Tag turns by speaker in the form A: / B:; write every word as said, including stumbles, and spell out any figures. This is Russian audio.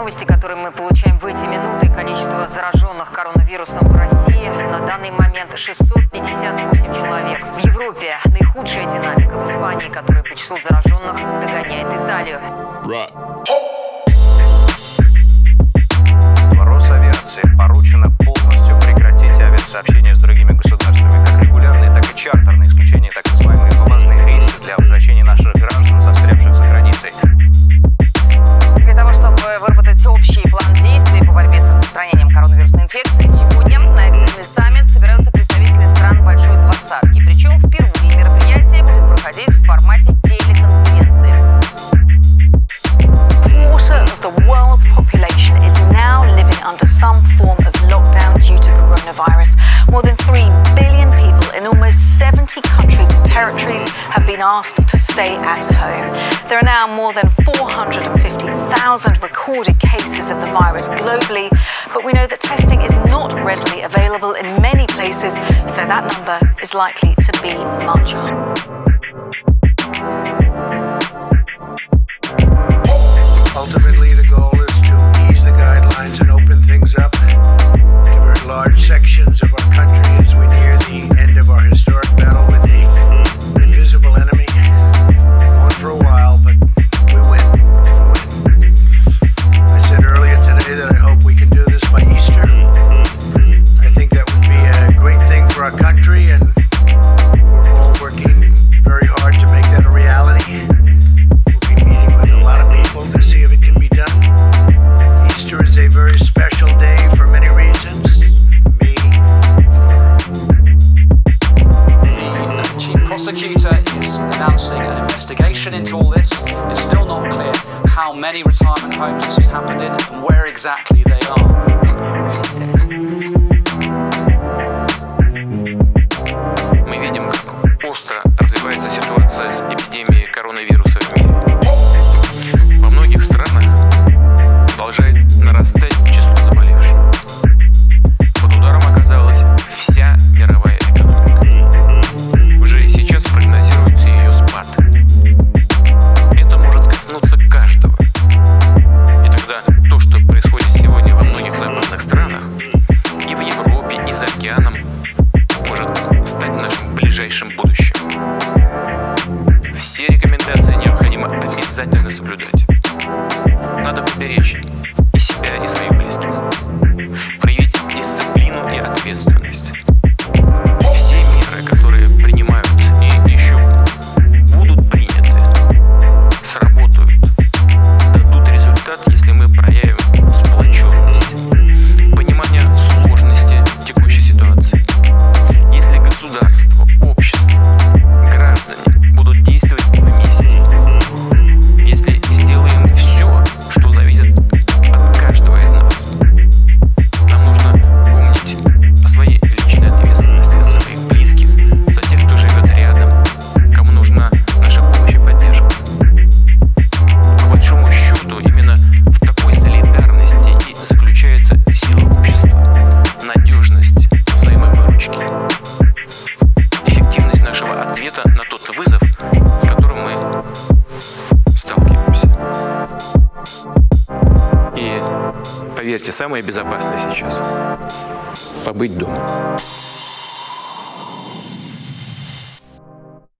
A: новости, которые мы получаем в эти минуты. Количество зараженных коронавирусом в России на данный момент шестьсот пятьдесят восемь человек. В Европе наихудшая динамика. В Испании, которая по числу зараженных догоняет Италию.
B: Росавиации поручено полностью прекратить авиасообщение с другими государствами, как регулярные, так и чартерные, исключение так называемые вывозные рейсы для возвращения наших граждан, застрявших за границей.
A: Для того, чтобы выработать общий план действий по борьбе с распространением коронавирусной инфекции, сегодня на экстренный саммит собираются представители стран Большой Двадцатки. Причем впервые мероприятие будет проходить в формате телеконференции.
C: Quarter of the world's population is now living under some form of lockdown due to coronavirus. More than three billion people in almost seventy countries and territories have been asked to stay at home. There are now more than four hundred fifty thousand recorded cases of the virus globally, but we know that testing is not readily available in many places, so that number is likely to be much higher.
D: Ultimately, the goal is to ease the guidelines and open things up to very large sections of our country as we near the end of our historic battle with the invisible enemy. Going for a while, but we win. We win. I said earlier today that I hope we can do this by Easter. I think that would be a great thing for our country, and we're all working very hard to make that a reality. We'll be meeting with a lot of people to see if it can be done. Easter is a very special day for many reasons. For me,
E: The chief prosecutor is announcing an investigation into all this. It's still not clear how many retirement homes this has happened in and where exactly they are.
F: Мы видим, как остро развивается ситуация с эпидемией коронавируса в мире. Во многих странах продолжает нарастать число заболевших. Под ударом оказалась вся мировая экономика. Уже сейчас прогнозируется ее спад. Это может коснуться каждого. И тогда то, что происходит сегодня во многих западных странах, и в Европе, и за океаном, может стать нашим ближайшим будущим. Все рекомендации необходимо обязательно соблюдать. Надо поберечь и себя, и своих близких. Проявить дисциплину и ответственность. Все меры, которые принимают и еще будут приняты, сработают, дадут результат, если мы проявим сплоченность, понимание сложности текущей ситуации. Если государство, общество, граждане будут действовать вместе, если сделаем все, что зависит от каждого из нас, нам нужно помнить о своей личной ответственности за своих близких, за тех, кто живет рядом, кому нужна наша помощь и поддержка. По большому счету, именно в такой солидарности и заключается сила общества, надежность взаимовыручки, эффективность нашего ответа на тот вызов, с которым мы сталкиваемся. И поверьте, самое безопасное сейчас — побыть дома.